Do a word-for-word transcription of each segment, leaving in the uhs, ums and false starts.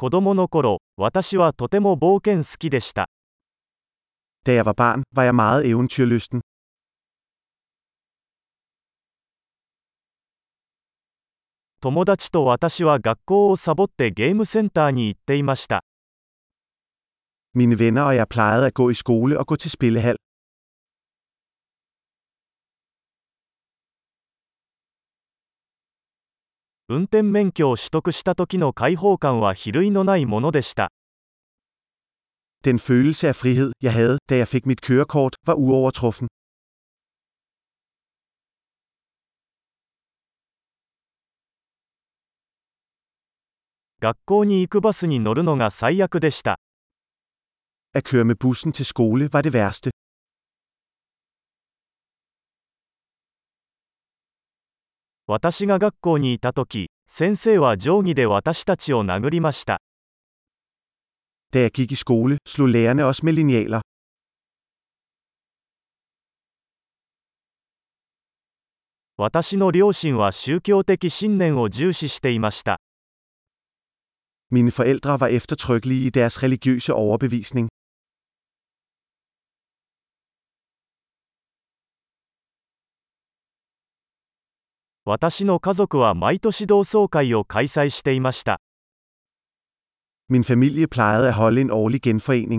子供の頃、私はとても冒険好きでした。 Da jeg var barn, var jeg meget eventyrlysten. 友達と私は学校をサボってゲームセンターに行っていました。 Mine venner og jeg plejede at gå i skole og gå til spillehal. 運転免許を取得した時の解放感は比類のないものでした。 Den følelse af frihed, jeg havde, da jeg fik mit kørekort, var uovertruffen. 学校に行くバスに乗るのが最悪でした。 At køre med bussen til skole var det værste. 私が学校にいた時、先生は定規で私たちを殴りました。 Da jeg gik i skole, slog lærerne os med linealer. 私の両親は宗教的信念を重視していました。 Mine forældre var eftertrykkelige i deres religiøse overbevisning. 私の家族は毎年同窓会を開催していました。 Min familie plejede at holde en årlig genforening.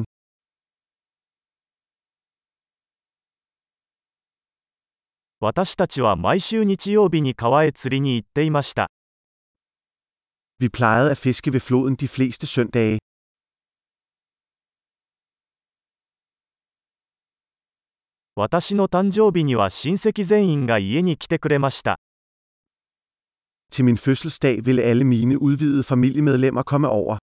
私たちは毎週日曜日に川へ釣りに行っていました。 Vi plejede at fiske ved floden de fleste søndage. 私の誕生日には親戚全員が家に来てくれました。 Til min fødselsdag ville alle mine udvidede familiemedlemmer komme over.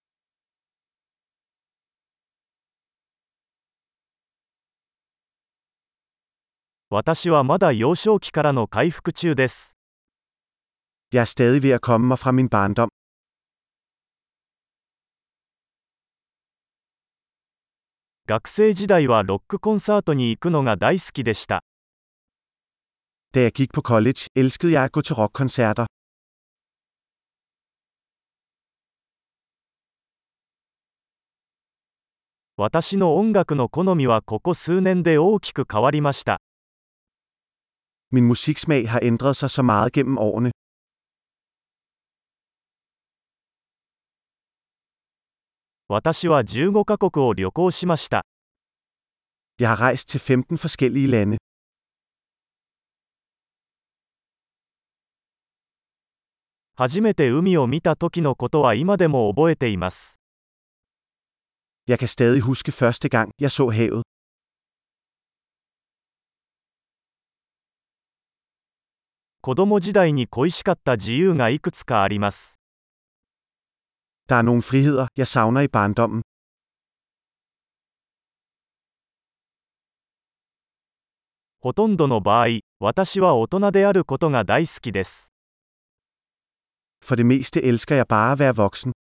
私はまだ幼少期からの回復中です。 Jeg er stadig ved at komme mig fra min barndom. 学生時代はロックコンサートに行くのが大好きでした。 Da jeg gik på college, elskede jeg at gå til rockkoncerter. 私の音楽の好みはここ数年で大きく変わりました。 Min musiksmag har ændret sig så meget gennem årene. 私はじゅうごカ国を旅行しました。 Jeg har rejst til femten forskellige lande. 初めて海を見た時のことは今でも覚えています。 Jeg kan stadig huske første gang, jeg så havet. 子供時代に恋しかった自由がいくつかあります。 Der er nogle friheder, jeg savner i barndommen. ほとんどの場合、私は大人であることが大好きです。 For det meste elsker jeg bare at være voksen.